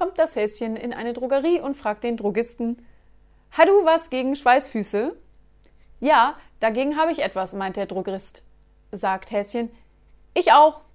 kommt das Häschen in eine Drogerie und fragt den Drogisten: »Ha du was gegen Schweißfüße?« »Ja, dagegen habe ich etwas«, meint der Drogist. Sagt Häschen: »Ich auch.